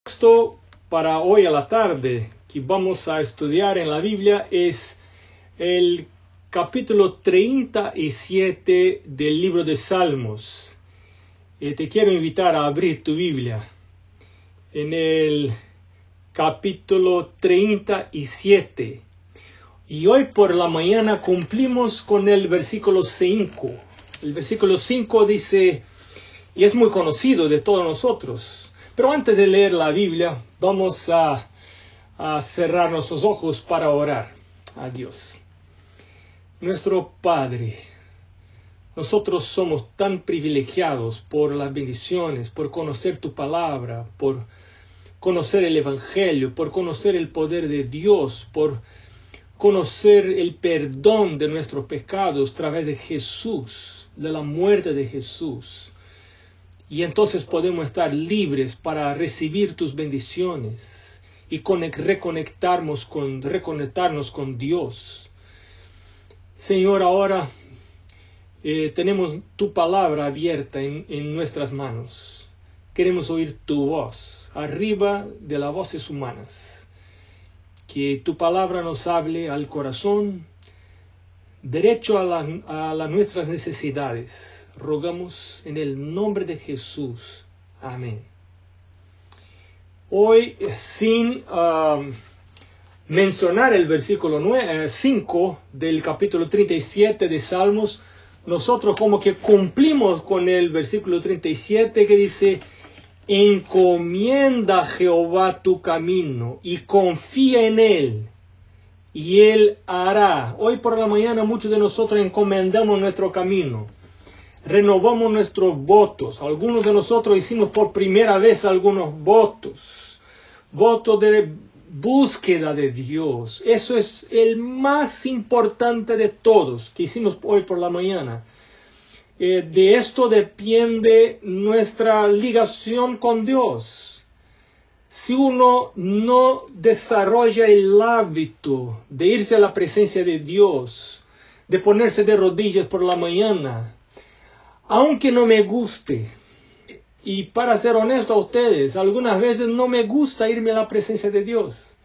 Texto para hoy a la tarde que vamos a estudiar en la Biblia es el capítulo 37 del libro de Salmos. Te quiero invitar a abrir tu Biblia en el capítulo 37. Y hoy por la mañana cumplimos con el versículo 5. El versículo 5 dice, y es muy conocido de todos nosotros. Pero antes de leer la Biblia, vamos a cerrar nuestros ojos para orar a Dios. Nuestro Padre, nosotros somos tan privilegiados por las bendiciones, por conocer tu palabra, por conocer el Evangelio, por conocer el poder de Dios, por conocer el perdón de nuestros pecados a través de Jesús, de la muerte de Jesús. Y entonces podemos estar libres para recibir tus bendiciones y reconectarnos con Dios. Señor, ahora tenemos tu palabra abierta en nuestras manos. Queremos oír tu voz, arriba de las voces humanas. Que tu palabra nos hable al corazón, derecho a nuestras necesidades. Rogamos en el nombre de Jesús. Amén. Hoy, sin mencionar el versículo 5 del capítulo 37 de Salmos, nosotros como que cumplimos con el versículo 37 que dice, encomienda a Jehová tu camino y confía en Él, y Él hará. Hoy por la mañana muchos de nosotros encomendamos nuestro camino. Renovamos nuestros votos. Algunos de nosotros hicimos por primera vez algunos votos. Votos de búsqueda de Dios. Eso es el más importante de todos que hicimos hoy por la mañana. De esto depende nuestra ligación con Dios. Si uno no desarrolla el hábito de irse a la presencia de Dios, de ponerse de rodillas por la mañana, aunque no me guste, y para ser honesto a ustedes, algunas veces no me gusta irme a la presencia de Dios.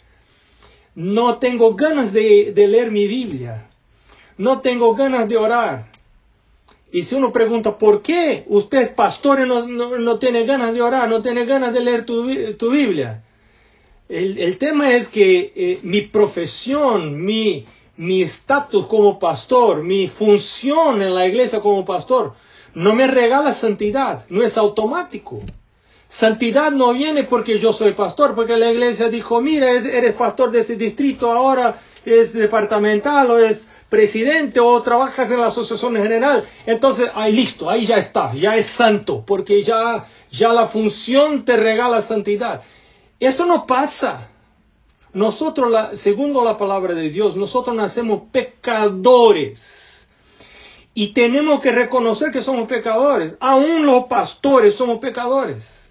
No tengo ganas de leer mi Biblia. No tengo ganas de orar. Y si uno pregunta, ¿por qué usted, pastor, no tiene ganas de orar, no tiene ganas de leer tu Biblia? El tema es que mi profesión, mi estatus como pastor, mi función en la iglesia como pastor, no me regala santidad, no es automático. Santidad no viene porque yo soy pastor, porque la iglesia dijo, mira, eres pastor de este distrito, ahora es departamental o es presidente o trabajas en la asociación general. Entonces, ahí listo, ahí ya está, ya es santo, porque ya la función te regala santidad. Eso no pasa. Nosotros, según la palabra de Dios, nosotros nacemos pecadores. Y tenemos que reconocer que somos pecadores. Aún los pastores somos pecadores.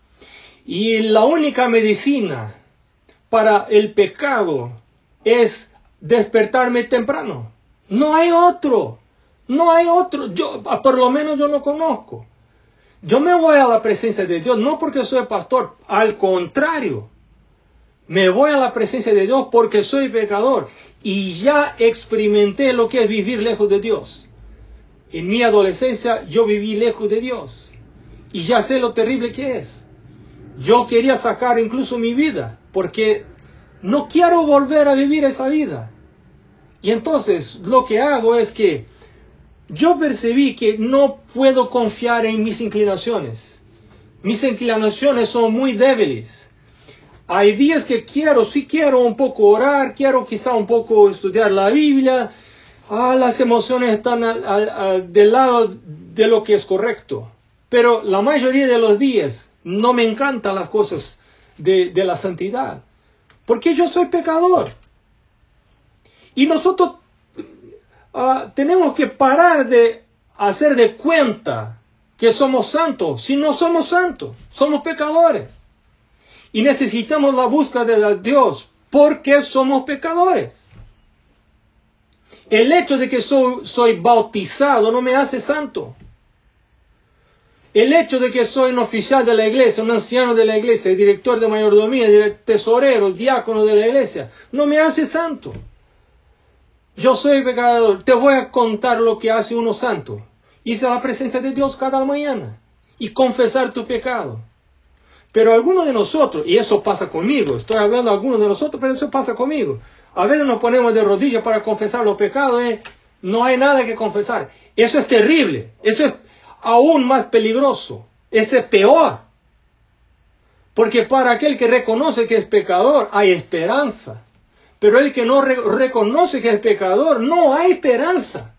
Y la única medicina para el pecado es despertarme temprano. No hay otro. No hay otro. Por lo menos yo no conozco. Yo me voy a la presencia de Dios no porque soy pastor. Al contrario. Me voy a la presencia de Dios porque soy pecador. Y ya experimenté lo que es vivir lejos de Dios. En mi adolescencia yo viví lejos de Dios y ya sé lo terrible que es. Yo quería sacar incluso mi vida porque no quiero volver a vivir esa vida. Y entonces lo que hago es que yo percibí que no puedo confiar en mis inclinaciones. Mis inclinaciones son muy débiles. Hay días que sí quiero un poco orar, quiero quizá un poco estudiar la Biblia. Las emociones están del lado de lo que es correcto. Pero la mayoría de los días no me encantan las cosas de la santidad. Porque yo soy pecador. Y nosotros tenemos que parar de hacer de cuenta que somos santos. Si no somos santos, somos pecadores. Y necesitamos la búsqueda de Dios porque somos pecadores. El hecho de que soy bautizado no me hace santo. El hecho de que soy un oficial de la iglesia, un anciano de la iglesia, director de mayordomía, tesorero, diácono de la iglesia, no me hace santo. Yo soy pecador. Te voy a contar lo que hace uno santo. Irse a la presencia de Dios cada mañana y confesar tu pecado. Pero algunos de nosotros, y eso pasa conmigo, estoy hablando de algunos de nosotros, pero eso pasa conmigo. A veces nos ponemos de rodillas para confesar los pecados, no hay nada que confesar. Eso es terrible, eso es aún más peligroso, eso es peor. Porque para aquel que reconoce que es pecador hay esperanza. Pero el que no reconoce que es pecador, no hay esperanza.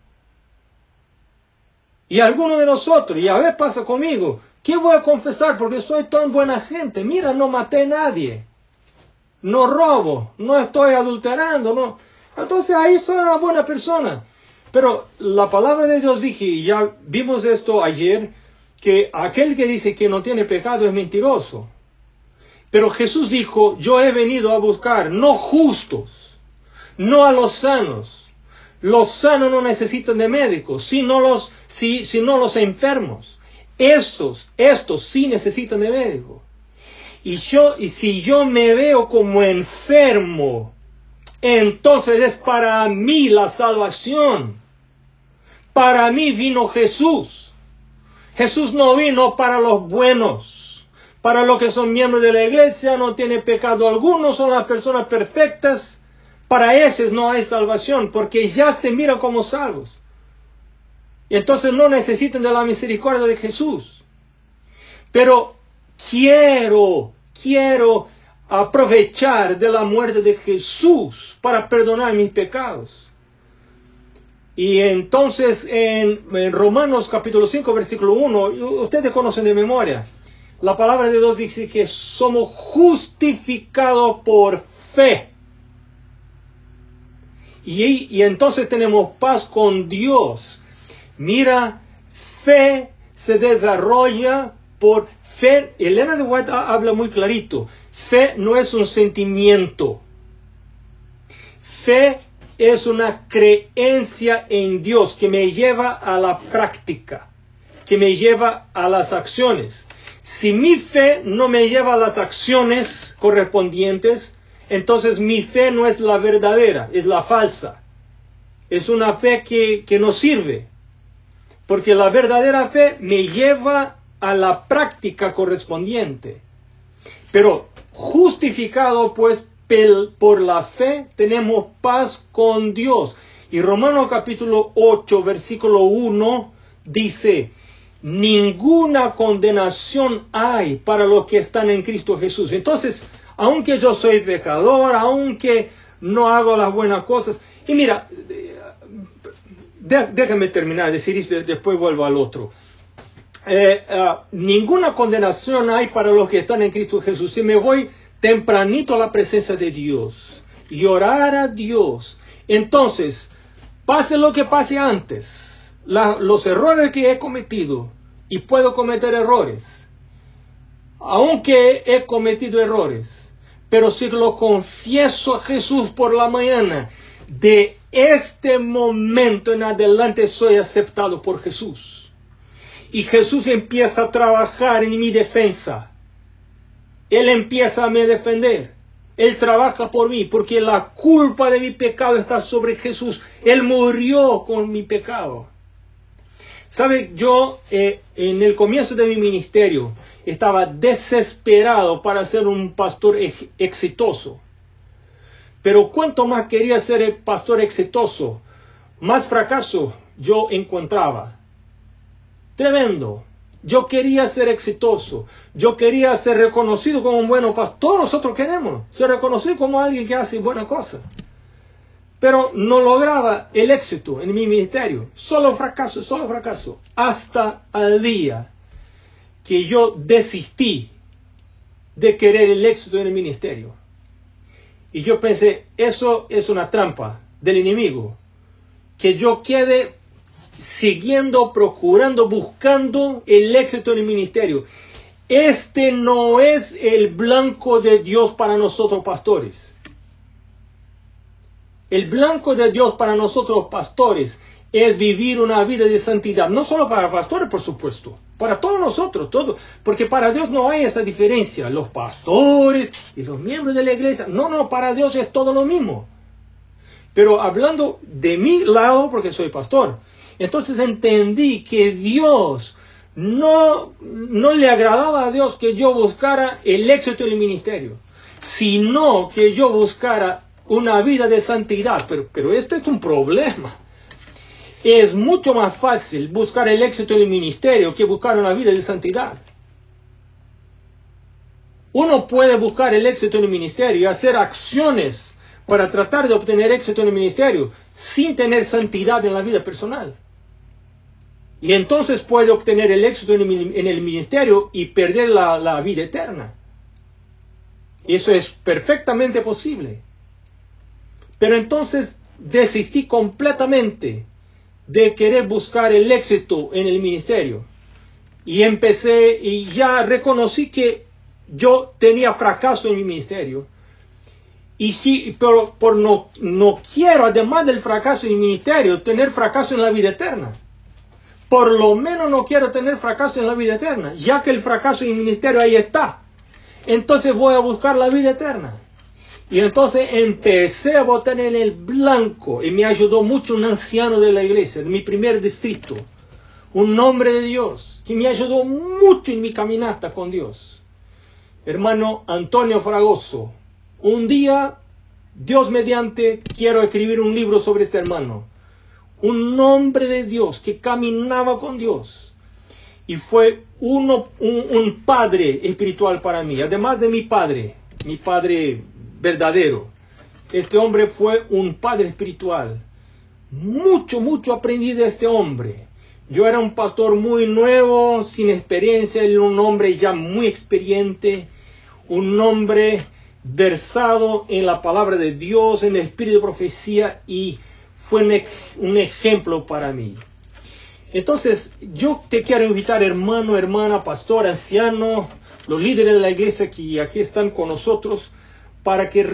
Y algunos de nosotros, y a veces pasa conmigo, ¿qué voy a confesar? Porque soy tan buena gente. Mira, no maté a nadie. No robo. No estoy adulterando. No. Entonces ahí soy una buena persona. Pero la palabra de Dios dice, y ya vimos esto ayer, que aquel que dice que no tiene pecado es mentiroso. Pero Jesús dijo, yo he venido a buscar no justos, no a los sanos. Los sanos no necesitan de médicos, sino los enfermos. Estos sí necesitan de médico. Y si yo me veo como enfermo, entonces es para mí la salvación. Para mí vino Jesús. Jesús no vino para los buenos, para los que son miembros de la iglesia, no tienen pecado alguno, son las personas perfectas. Para ellos no hay salvación, porque ya se miran como salvos. Y entonces no necesitan de la misericordia de Jesús. Pero quiero aprovechar de la muerte de Jesús para perdonar mis pecados. Y entonces en Romanos capítulo 5 versículo 1, ustedes conocen de memoria, la palabra de Dios dice que somos justificados por fe. Y entonces tenemos paz con Dios. Mira, fe se desarrolla por fe. Elena de White habla muy clarito. Fe no es un sentimiento. Fe es una creencia en Dios que me lleva a la práctica, que me lleva a las acciones. Si mi fe no me lleva a las acciones correspondientes, entonces mi fe no es la verdadera, es la falsa. Es una fe que no sirve. Porque la verdadera fe me lleva a la práctica correspondiente. Pero justificado pues por la fe tenemos paz con Dios. Y Romanos capítulo 8 versículo 1 dice, ninguna condenación hay para los que están en Cristo Jesús. Entonces, aunque yo soy pecador, aunque no hago las buenas cosas, y mira, déjame terminar de decir esto, después vuelvo al otro. Ninguna condenación hay para los que están en Cristo Jesús. Si me voy tempranito a la presencia de Dios y orar a Dios, entonces, pase lo que pase antes, los errores que he cometido, y puedo cometer errores, aunque he cometido errores, pero si lo confieso a Jesús por la mañana, de este momento en adelante soy aceptado por Jesús. Y Jesús empieza a trabajar en mi defensa. Él empieza a me defender. Él trabaja por mí, porque la culpa de mi pecado está sobre Jesús. Él murió con mi pecado. ¿Sabe? Yo en el comienzo de mi ministerio estaba desesperado para ser un pastor exitoso. Pero cuanto más quería ser el pastor exitoso, más fracaso yo encontraba. Tremendo. Yo quería ser exitoso. Yo quería ser reconocido como un buen pastor. Todos nosotros queremos ser reconocido como alguien que hace buena cosa. Pero no lograba el éxito en mi ministerio. Solo fracaso. Hasta el día que yo desistí de querer el éxito en el ministerio. Y yo pensé, eso es una trampa del enemigo. Que yo quede siguiendo, procurando, buscando el éxito en el ministerio. Este no es el blanco de Dios para nosotros pastores. El blanco de Dios para nosotros pastores es vivir una vida de santidad. No solo para pastores, por supuesto, para todos nosotros, todos. Porque para Dios no hay esa diferencia. Los pastores y los miembros de la iglesia. No, para Dios es todo lo mismo. Pero hablando de mi lado, porque soy pastor, entonces entendí que Dios no le agradaba a Dios que yo buscara el éxito en el ministerio, sino que yo buscara una vida de santidad. Pero este es un problema. Es mucho más fácil buscar el éxito en el ministerio que buscar una vida de santidad. Uno puede buscar el éxito en el ministerio y hacer acciones para tratar de obtener éxito en el ministerio sin tener santidad en la vida personal. Y entonces puede obtener el éxito en el ministerio y perder la vida eterna. Eso es perfectamente posible. Pero entonces desistí completamente de querer buscar el éxito en el ministerio. Y empecé y ya reconocí que yo tenía fracaso en mi ministerio. Y sí, pero no quiero, además del fracaso en el ministerio, tener fracaso en la vida eterna. Por lo menos no quiero tener fracaso en la vida eterna, ya que el fracaso en el ministerio ahí está. Entonces voy a buscar la vida eterna. Y entonces empecé a votar en el blanco y me ayudó mucho un anciano de la iglesia, de mi primer distrito, un hombre de Dios, que me ayudó mucho en mi caminata con Dios. Hermano Antonio Fragoso, un día, Dios mediante, quiero escribir un libro sobre este hermano. Un hombre de Dios que caminaba con Dios. Y fue un padre espiritual para mí, además de mi padre verdadero. Este hombre fue un padre espiritual. Mucho aprendí de este hombre. Yo era un pastor muy nuevo, sin experiencia, él era un hombre ya muy experiente, un hombre versado en la palabra de Dios, en el espíritu de profecía, y fue un ejemplo para mí. Entonces, yo te quiero invitar, hermano, hermana, pastor, anciano, los líderes de la iglesia que aquí están con nosotros, para que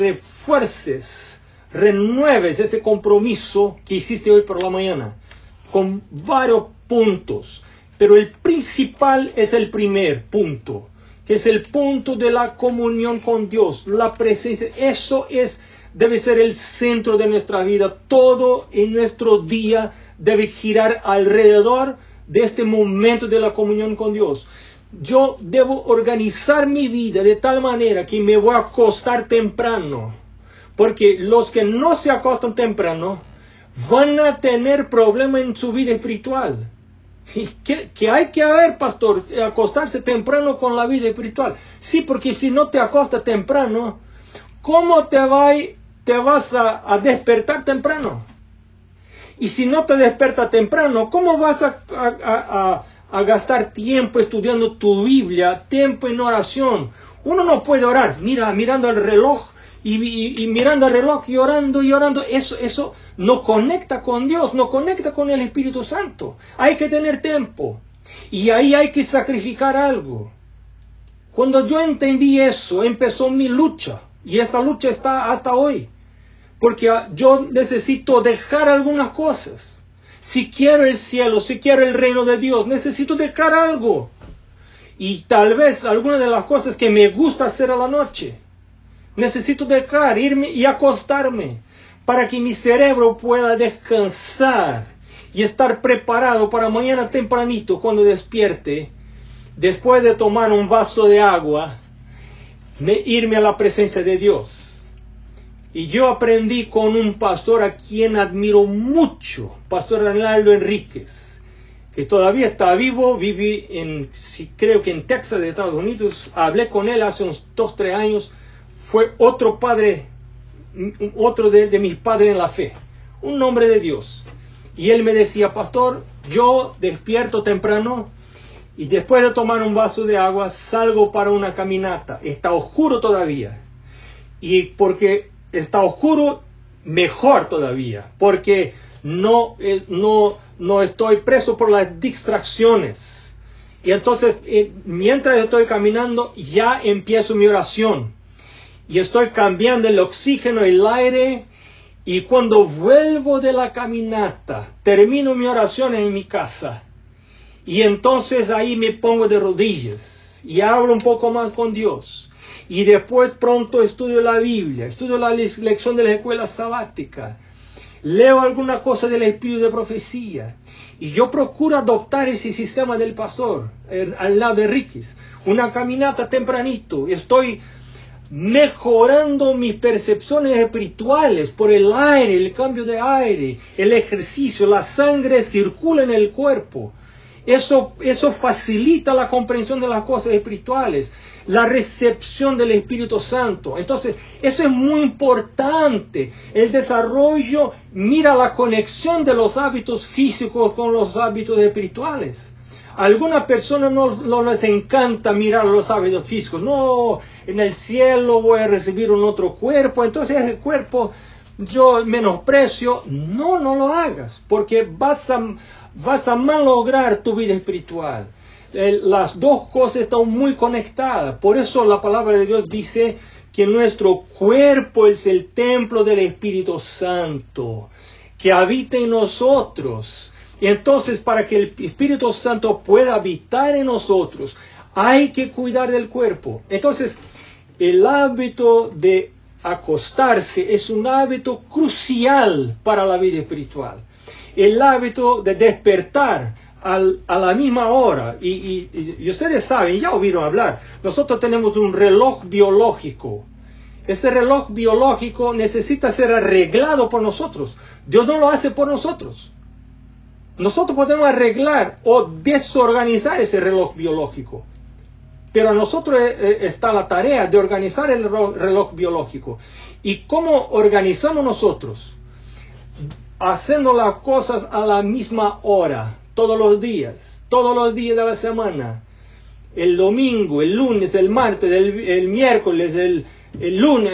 renueves este compromiso que hiciste hoy por la mañana, con varios puntos. Pero el principal es el primer punto, que es el punto de la comunión con Dios, la presencia. Eso debe ser el centro de nuestra vida. Todo en nuestro día debe girar alrededor de este momento de la comunión con Dios. Yo debo organizar mi vida de tal manera que me voy a acostar temprano, porque los que no se acostan temprano van a tener problemas en su vida espiritual. ¿Qué hay que hacer, pastor? Acostarse temprano con la vida espiritual. Sí, porque si no te acostas temprano, ¿cómo te vas a despertar temprano? Y si no te despiertas temprano, ¿cómo vas a gastar tiempo estudiando tu Biblia, tiempo en oración? Uno no puede orar, mirando el reloj y mirando el reloj y orando. Eso no conecta con Dios, no conecta con el Espíritu Santo. Hay que tener tiempo y ahí hay que sacrificar algo. Cuando yo entendí eso, empezó mi lucha, y esa lucha está hasta hoy. Porque yo necesito dejar algunas cosas. Si quiero el cielo, si quiero el reino de Dios, necesito dejar algo. Y tal vez algunas de las cosas que me gusta hacer a la noche, necesito dejar, irme y acostarme, para que mi cerebro pueda descansar y estar preparado para mañana tempranito, cuando despierte, después de tomar un vaso de agua, irme a la presencia de Dios. Y yo aprendí con un pastor a quien admiro mucho, Pastor Arnaldo Enríquez, que todavía está vivo, creo que en Texas, de Estados Unidos. Hablé con él hace unos 2-3 años. Fue otro padre, otro de mis padres en la fe, un hombre de Dios. Y él me decía, pastor, yo despierto temprano y después de tomar un vaso de agua salgo para una caminata. Está oscuro todavía. Y porque está oscuro, mejor todavía, porque no estoy preso por las distracciones. Y entonces, mientras estoy caminando, ya empiezo mi oración. Y estoy cambiando el oxígeno, el aire, Y cuando vuelvo de la caminata, termino mi oración en mi casa. Y entonces ahí me pongo de rodillas y hablo un poco más con Dios. Y después pronto estudio la Biblia, estudio la lección de la escuela sabática. Leo alguna cosa del espíritu de profecía. Y yo procuro adoptar ese sistema del pastor, al lado de Riquis. Una caminata tempranito. Estoy mejorando mis percepciones espirituales por el aire, el cambio de aire, el ejercicio, la sangre circula en el cuerpo. Eso facilita la comprensión de las cosas espirituales, la recepción del Espíritu Santo. Entonces, eso es muy importante. El desarrollo, mira la conexión de los hábitos físicos con los hábitos espirituales. A algunas personas no les encanta mirar los hábitos físicos. No, en el cielo voy a recibir un otro cuerpo, entonces el cuerpo yo menosprecio. No lo hagas, porque vas a malograr tu vida espiritual. Las dos cosas están muy conectadas. Por eso la palabra de Dios dice que nuestro cuerpo es el templo del Espíritu Santo, que habita en nosotros. Entonces, para que el Espíritu Santo pueda habitar en nosotros, hay que cuidar del cuerpo. Entonces, el hábito de acostarse es un hábito crucial para la vida espiritual. El hábito de despertar a la misma hora. Y ustedes saben, ya oyeron hablar, nosotros tenemos un reloj biológico. Ese reloj biológico necesita ser arreglado por nosotros. Dios no lo hace por nosotros. Nosotros podemos arreglar o desorganizar ese reloj biológico. Pero a nosotros está la tarea de organizar el reloj biológico. ¿Y cómo organizamos nosotros? Haciendo las cosas a la misma hora, todos los días de la semana. El domingo, el lunes, el martes, el miércoles, el lunes,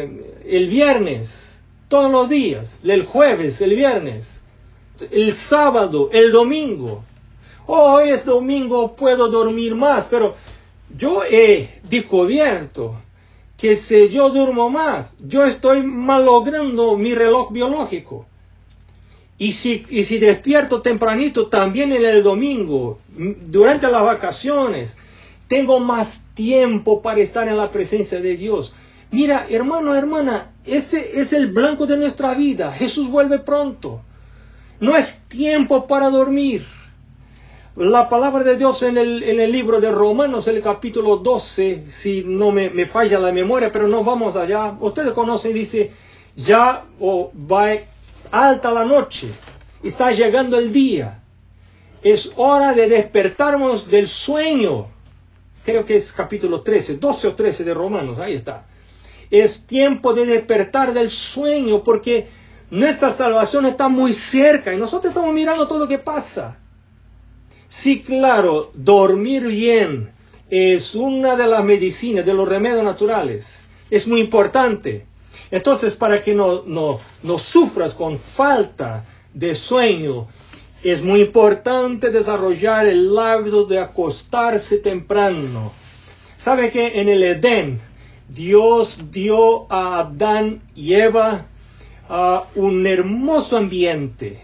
el viernes, todos los días, el jueves, el viernes, el sábado, el domingo. Hoy es domingo, puedo dormir más, pero yo he descubierto que si yo duermo más, yo estoy malogrando mi reloj biológico. Y si despierto tempranito también en el domingo, durante las vacaciones, tengo más tiempo para estar en la presencia de Dios. Mira, hermano, hermana, ese es el blanco de nuestra vida. Jesús vuelve pronto. No es tiempo para dormir. La palabra de Dios en el libro de Romanos, el capítulo 12, si no me falla la memoria, pero no vamos allá. Ustedes conocen, dice, ya va alta la noche, está llegando el día. Es hora de despertarnos del sueño. Creo que es capítulo 13, 12 o 13 de Romanos, ahí está. Es tiempo de despertar del sueño porque nuestra salvación está muy cerca y nosotros estamos mirando todo lo que pasa. Sí, claro, dormir bien es una de las medicinas, de los remedios naturales. Es muy importante. Entonces, para que no sufras con falta de sueño, es muy importante desarrollar el hábito de acostarse temprano. ¿Sabe que en el Edén Dios dio a Adán y Eva un hermoso ambiente?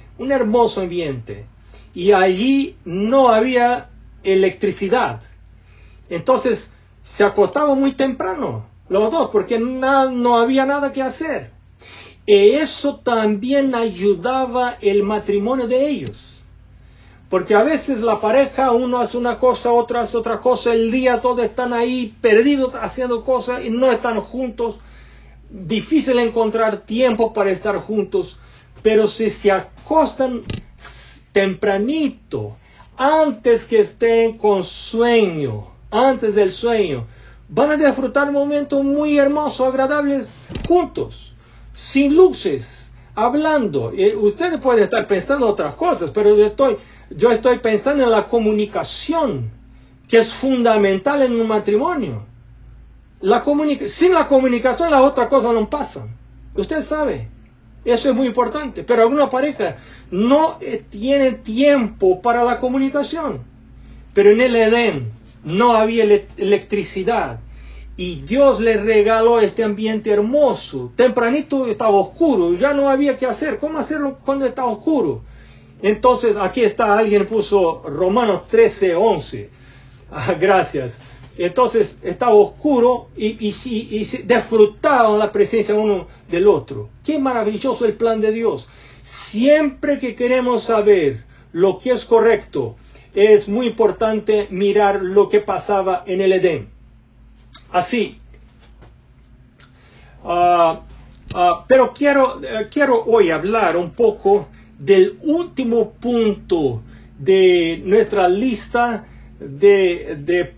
Y allí no había electricidad. Entonces se acostaban muy temprano los dos porque no había nada que hacer. Y eso también ayudaba el matrimonio de ellos. Porque a veces la pareja, uno hace una cosa, otro hace otra cosa, el día todos están ahí perdidos haciendo cosas y no están juntos. Difícil encontrar tiempo para estar juntos. Pero si se acostan tempranito, antes que estén con sueño, antes del sueño, van a disfrutar momentos muy hermosos, agradables, juntos, sin luces, hablando. Ustedes pueden estar pensando otras cosas, pero yo estoy pensando en la comunicación, que es fundamental en un matrimonio. Sin la comunicación las otras cosas no pasan. Usted sabe. Eso es muy importante, pero alguna pareja no tiene tiempo para la comunicación. Pero en el Edén no había electricidad Y Dios le regaló este ambiente hermoso. Tempranito estaba oscuro, ya no había que hacer. ¿Cómo hacerlo cuando está oscuro? Entonces aquí está, alguien puso Romanos 13:11. Gracias. Entonces estaba oscuro y disfrutaban la presencia uno del otro. Qué maravilloso el plan de Dios. Siempre que queremos saber lo que es correcto, es muy importante mirar lo que pasaba en el Edén. Así. Pero quiero hoy hablar un poco del último punto de nuestra lista de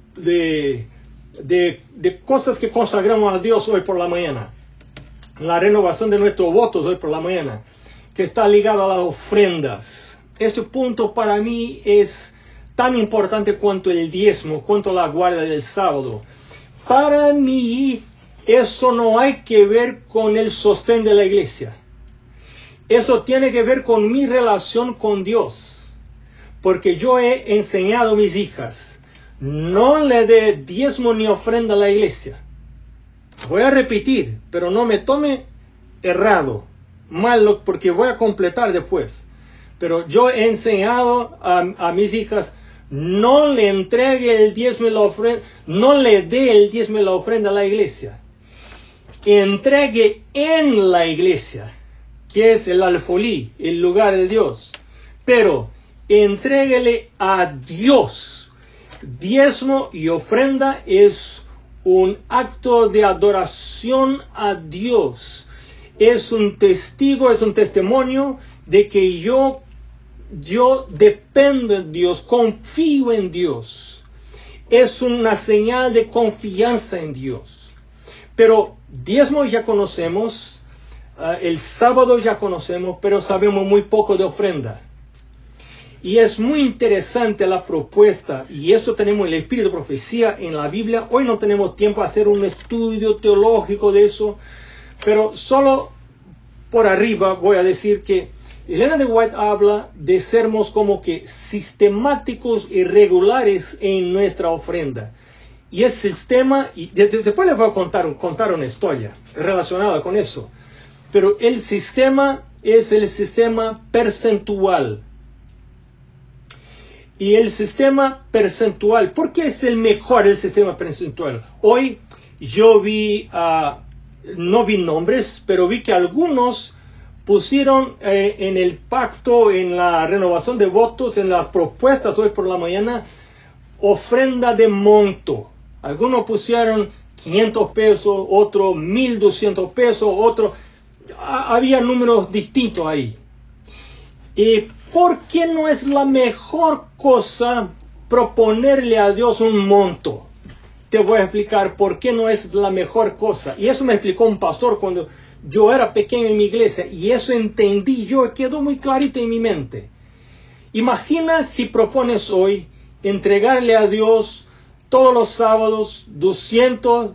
cosas que consagramos a Dios hoy por la mañana. La renovación de nuestros votos hoy por la mañana, que está ligado a las ofrendas. Este punto para mí es tan importante cuanto el diezmo, cuanto la guardia del sábado. Para mí, eso no hay que ver con el sostén de la iglesia. Eso tiene que ver con mi relación con Dios. Porque yo he enseñado a mis hijas, no le dé diezmo ni ofrenda a la iglesia. Voy a repetir, pero no me tome errado, malo, porque voy a completar después. Pero yo he enseñado a mis hijas, no le entregue el diezmo y la ofrenda, no le dé el diezmo y la ofrenda a la iglesia. Entregue en la iglesia, que es el alfolí, el lugar de Dios. Pero entréguele a Dios. Diezmo y ofrenda es un acto de adoración a Dios. Es un testigo, es un testimonio de que yo dependo en Dios, confío en Dios. Es una señal de confianza en Dios. Pero diezmo ya conocemos, el sábado ya conocemos, pero sabemos muy poco de ofrenda. Y es muy interesante la propuesta, y esto tenemos el espíritu de profecía en la Biblia. Hoy no tenemos tiempo a hacer un estudio teológico de eso, pero solo por arriba voy a decir que Elena de White habla de sermos como que sistemáticos y regulares en nuestra ofrenda. Y el sistema, y después les voy a contar una historia relacionada con eso. Pero el sistema es el sistema percentual. Y el sistema percentual, ¿por qué es el mejor el sistema percentual? Hoy yo vi, no vi nombres, pero vi que algunos pusieron en el pacto, en la renovación de votos, en las propuestas hoy por la mañana, ofrenda de monto. Algunos pusieron 500 pesos, otros 1,200 pesos, otros, había números distintos ahí. ¿Y por qué no es la mejor cosa proponerle a Dios un monto? Te voy a explicar por qué no es la mejor cosa. Y eso me explicó un pastor cuando yo era pequeño en mi iglesia. Y eso entendí yo, quedó muy clarito en mi mente. Imagina si propones hoy entregarle a Dios todos los sábados 200,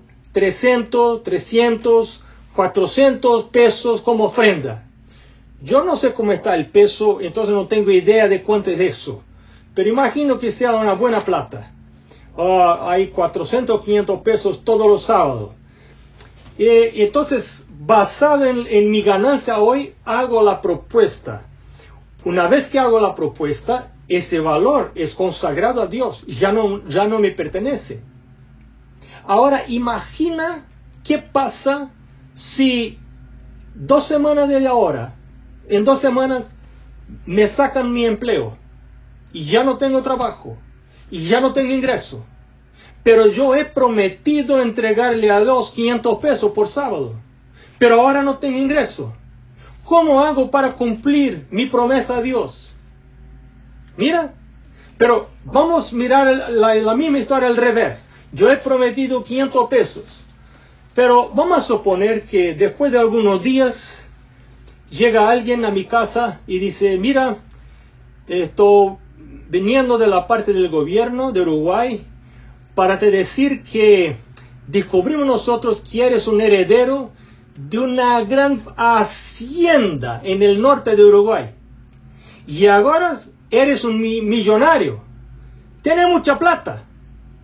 300, 400 pesos como ofrenda. Yo no sé cómo está el peso, entonces no tengo idea de cuánto es eso. Pero imagino que sea una buena plata. Hay 400, 500 pesos todos los sábados. Entonces, basado en mi ganancia hoy, hago la propuesta. Una vez que hago la propuesta, ese valor es consagrado a Dios. Ya no me pertenece. Ahora, imagina qué pasa si 2 semanas de ahora, en 2 semanas, me sacan mi empleo y ya no tengo trabajo y ya no tengo ingreso. Pero yo he prometido entregarle a Dios 500 pesos por sábado. Pero ahora no tengo ingreso. ¿Cómo hago para cumplir mi promesa a Dios? Mira, pero vamos a mirar la misma historia al revés. Yo he prometido 500 pesos. Pero vamos a suponer que después de algunos días llega alguien a mi casa y dice, mira, estoy viniendo de la parte del gobierno de Uruguay para te decir que descubrimos nosotros que eres un heredero de una gran hacienda en el norte de Uruguay. Y ahora eres un millonario. Tienes mucha plata.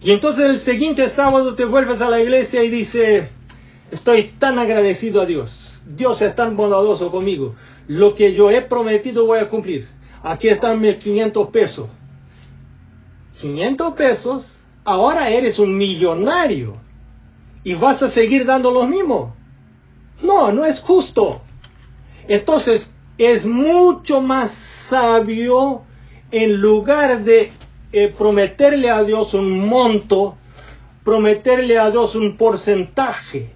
Y entonces el siguiente sábado te vuelves a la iglesia y dices, estoy tan agradecido a Dios. Dios es tan bondadoso conmigo. Lo que yo he prometido voy a cumplir. Aquí están mis 500 pesos. 500 pesos, ahora eres un millonario. ¿Y vas a seguir dando lo mismo? No, no es justo. Entonces, es mucho más sabio, en lugar de prometerle a Dios un monto, prometerle a Dios un porcentaje.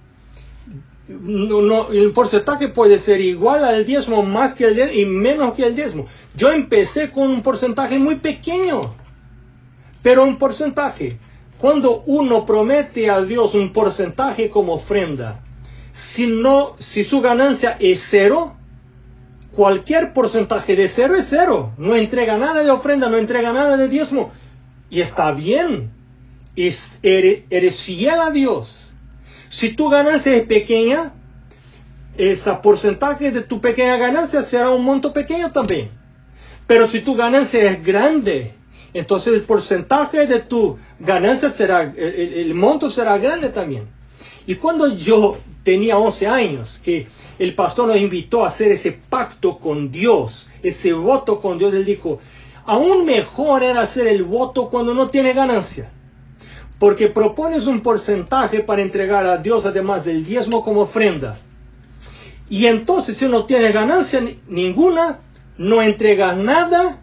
No, el porcentaje puede ser igual al diezmo, más que el diezmo y menos que el diezmo. Yo empecé con un porcentaje muy pequeño, pero un porcentaje. Cuando uno promete a Dios un porcentaje como ofrenda, si su ganancia es cero, cualquier porcentaje de cero es cero. No entrega nada de ofrenda, no entrega nada de diezmo. Y está bien. Eres fiel a Dios. Si tu ganancia es pequeña, ese porcentaje de tu pequeña ganancia será un monto pequeño también. Pero si tu ganancia es grande, entonces el porcentaje de tu ganancia será, el monto será grande también. Y cuando yo tenía 11 años, que el pastor nos invitó a hacer ese pacto con Dios, ese voto con Dios, él dijo, aún mejor era hacer el voto cuando no tiene ganancia. Porque propones un porcentaje para entregar a Dios además del diezmo como ofrenda. Y entonces si no tienes ganancia ninguna, no entregas nada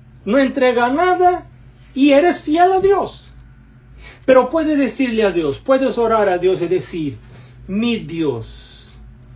y eres fiel a Dios. Pero puedes decirle a Dios, puedes orar a Dios y decir, mi Dios,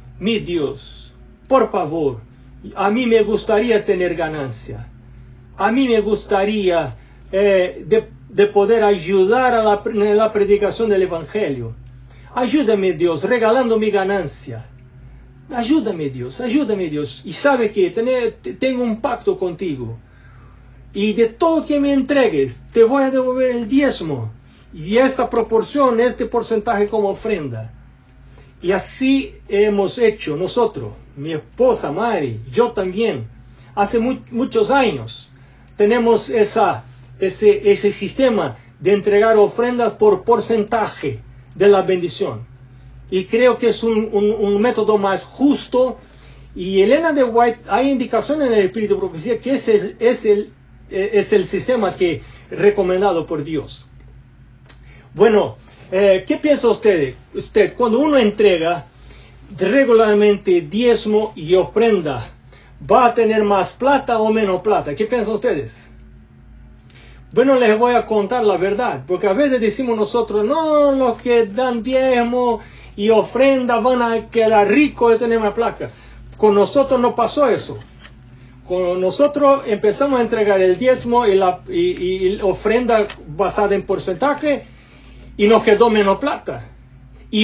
por favor, a mí me gustaría tener ganancia. A mí me gustaría de poder ayudar a la predicación del Evangelio. Ayúdame, Dios, regalando mi ganancia. Ayúdame, Dios. Y sabe que tengo un pacto contigo. Y de todo que me entregues, te voy a devolver el diezmo. Y esta proporción, este porcentaje como ofrenda. Y así hemos hecho nosotros, mi esposa Mari, yo también, hace muchos años. Tenemos ese sistema de entregar ofrendas por porcentaje de la bendición. Y creo que es un método más justo. Y Elena de White, hay indicación en el Espíritu de Profecía que ese es el sistema que recomendado por Dios. Bueno, ¿qué piensa usted cuando uno entrega regularmente diezmo y ofrenda, va a tener más plata o menos plata? ¿Qué piensan ustedes? Bueno, les voy a contar la verdad, porque a veces decimos nosotros, no, los que dan diezmo y ofrenda van a quedar ricos de tener más plata. Con nosotros no pasó eso. Con nosotros empezamos a entregar el diezmo y la ofrenda basada en porcentaje, y nos quedó menos plata. Y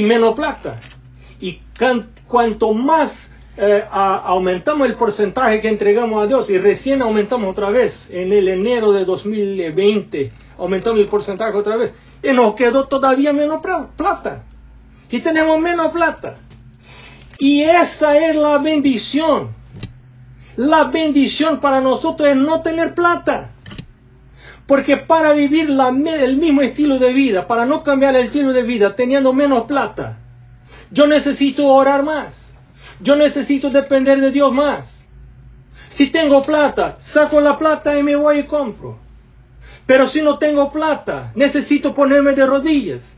cuanto más aumentamos el porcentaje que entregamos a Dios, y recién aumentamos otra vez, en el enero de 2020, aumentamos el porcentaje otra vez, y nos quedó todavía menos plata. Y tenemos menos plata. Y esa es la bendición. La bendición para nosotros es no tener plata. Porque para vivir el mismo estilo de vida, para no cambiar el estilo de vida teniendo menos plata, yo necesito orar más. Yo necesito depender de Dios más. Si tengo plata, saco la plata y me voy y compro. Pero si no tengo plata, necesito ponerme de rodillas.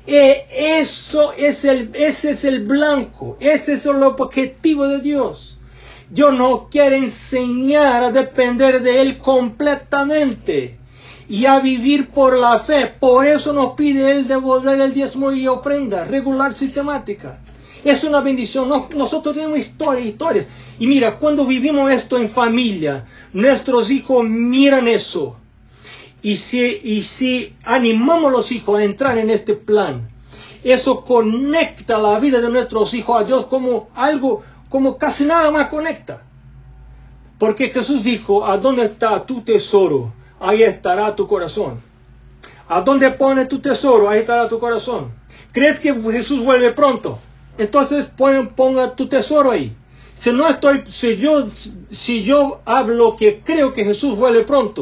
Ese es el blanco, ese es el objetivo de Dios. Dios nos quiere enseñar a depender de Él completamente y a vivir por la fe. Por eso nos pide Él devolver el diezmo y ofrenda regular, sistemática. Es una bendición. Nosotros tenemos historias. Y mira, cuando vivimos esto en familia, nuestros hijos miran eso. Y si animamos a los hijos a entrar en este plan, eso conecta la vida de nuestros hijos a Dios como algo, como casi nada más conecta. Porque Jesús dijo, ¿a dónde está tu tesoro? Ahí estará tu corazón. ¿A dónde pone tu tesoro? Ahí estará tu corazón. ¿Crees que Jesús vuelve pronto? Entonces ponga tu tesoro ahí. Si yo hablo que creo que Jesús vuelve pronto,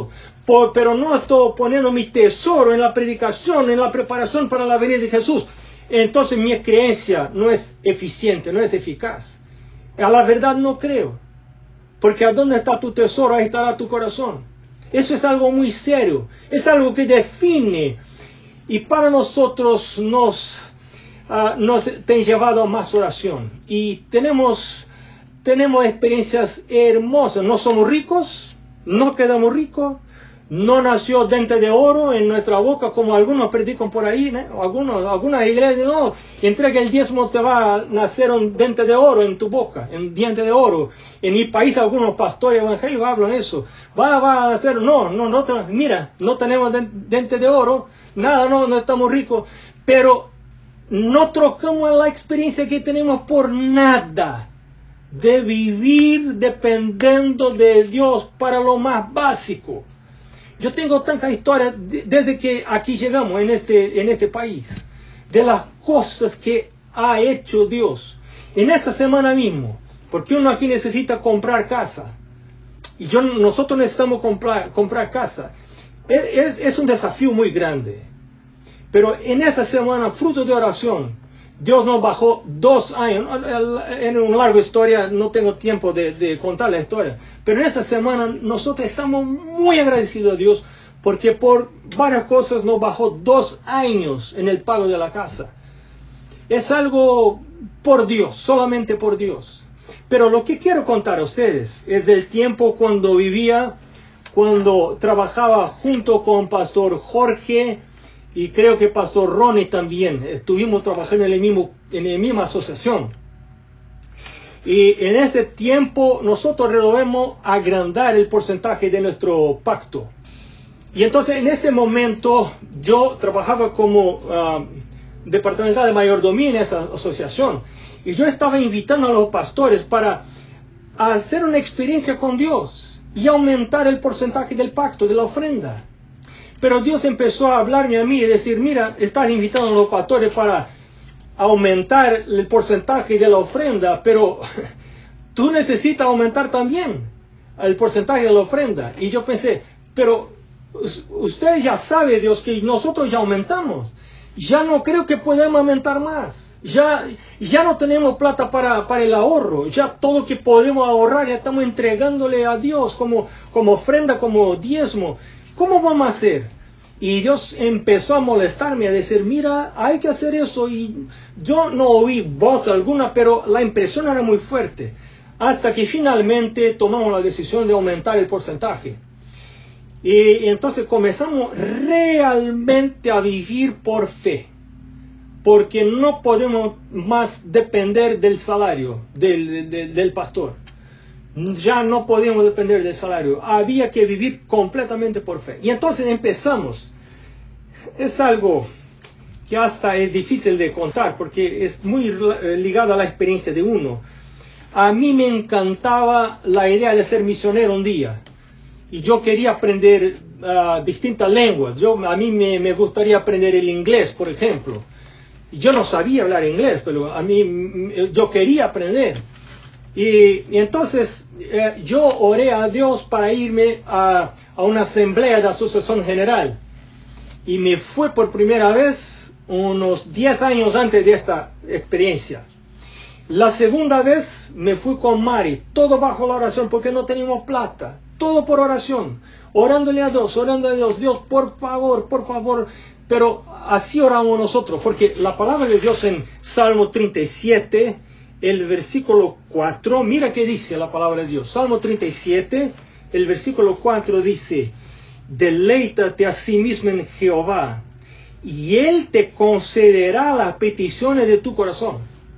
pero no estoy poniendo mi tesoro en la predicación, en la preparación para la venida de Jesús. Entonces mi creencia no es eficiente, no es eficaz. A la verdad no creo. Porque ¿a dónde está tu tesoro? Ahí estará tu corazón. Eso es algo muy serio. Es algo que define. Y para nosotros nos ha llevado a más oración. Y tenemos experiencias hermosas. No somos ricos, no quedamos ricos. No nació diente de oro en nuestra boca, como algunos predican por ahí, ¿no? Algunas iglesias, no, entrega el diezmo, te va a nacer un diente de oro en tu boca, un diente de oro. En mi país algunos pastores evangélicos hablan eso. Va a nacer, mira, no tenemos diente de oro, nada, no estamos ricos, pero no trocamos la experiencia que tenemos por nada, de vivir dependiendo de Dios para lo más básico. Yo tengo tanta historia desde que aquí llegamos en este país, de las cosas que ha hecho Dios. En esta semana mismo, porque uno aquí necesita comprar casa, y nosotros necesitamos comprar casa. Es un desafío muy grande. Pero en esa semana, fruto de oración, Dios nos bajó 2 años. En una larga historia, no tengo tiempo de contar la historia. Pero en esa semana nosotros estamos muy agradecidos a Dios porque por varias cosas nos bajó 2 años en el pago de la casa. Es algo por Dios, solamente por Dios. Pero lo que quiero contar a ustedes es del tiempo cuando trabajaba junto con Pastor Jorge, y creo que Pastor Ronnie también. Estuvimos trabajando en la misma asociación. Y en este tiempo nosotros resolvemos agrandar el porcentaje de nuestro pacto. Y entonces en este momento yo trabajaba como departamental de mayordomía en esa asociación. Y yo estaba invitando a los pastores para hacer una experiencia con Dios y aumentar el porcentaje del pacto, de la ofrenda. Pero Dios empezó a hablarme a mí y decir, mira, estás invitando a los pastores para aumentar el porcentaje de la ofrenda, pero tú necesitas aumentar también el porcentaje de la ofrenda. Y yo pensé, pero usted ya sabe, Dios, que nosotros ya aumentamos. Ya no creo que podemos aumentar más. Ya no tenemos plata para el ahorro. Ya todo lo que podemos ahorrar ya estamos entregándole a Dios como ofrenda, como diezmo. ¿Cómo vamos a hacer? Y Dios empezó a molestarme, a decir, mira, hay que hacer eso. Y yo no oí voz alguna, pero la impresión era muy fuerte. Hasta que finalmente tomamos la decisión de aumentar el porcentaje. Y entonces comenzamos realmente a vivir por fe. Porque no podemos más depender del salario del pastor. Ya no podíamos depender del salario. Había que vivir completamente por fe. Y entonces empezamos. Es algo que hasta es difícil de contar porque es muy ligado a la experiencia de uno. A mí me encantaba la idea de ser misionero un día. Y yo quería aprender distintas lenguas. A mí me gustaría aprender el inglés, por ejemplo. Yo no sabía hablar inglés, pero yo quería aprender. Y entonces yo oré a Dios para irme a una asamblea de asociación general. Y me fue por primera vez unos 10 años antes de esta experiencia. La segunda vez me fui con Mari, todo bajo la oración porque no teníamos plata. Todo por oración. Orándole a Dios, Dios, por favor. Pero así oramos nosotros, porque la palabra de Dios en Salmo 37, el versículo 4, mira qué dice la palabra de Dios. Salmo 37, el versículo 4 dice, deleítate a sí mismo en Jehová, y Él te concederá las peticiones de tu corazón.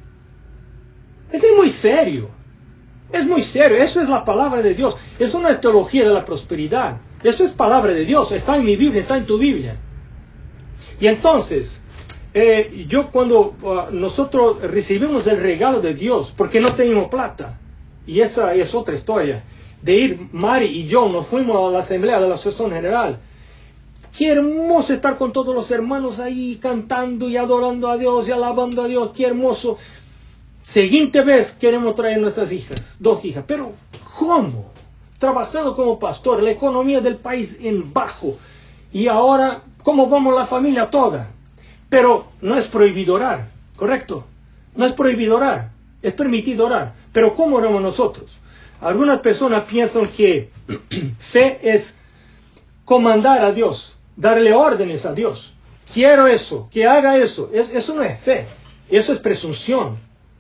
Esto es muy serio. Es muy serio. Eso es la palabra de Dios. Eso no es teología de la prosperidad. Eso es palabra de Dios. Está en mi Biblia, está en tu Biblia. Y entonces, cuando nosotros recibimos el regalo de Dios, porque no teníamos plata, y esa es otra historia, de ir, Mari y yo nos fuimos a la asamblea de la asociación general. Qué hermoso estar con todos los hermanos ahí cantando y adorando a Dios y alabando a Dios. Qué hermoso. Siguiente vez queremos traer nuestras hijas, 2 hijas. Pero ¿cómo? trabajando como pastor, la economía del país en bajo, y ahora, ¿cómo vamos la familia toda? Pero no es prohibido orar, ¿correcto? No es prohibido orar, es permitido orar. Pero ¿cómo oramos nosotros? Algunas personas piensan que fe es comandar a Dios, darle órdenes a Dios. Quiero eso, que haga eso. Eso no es fe, eso es presunción.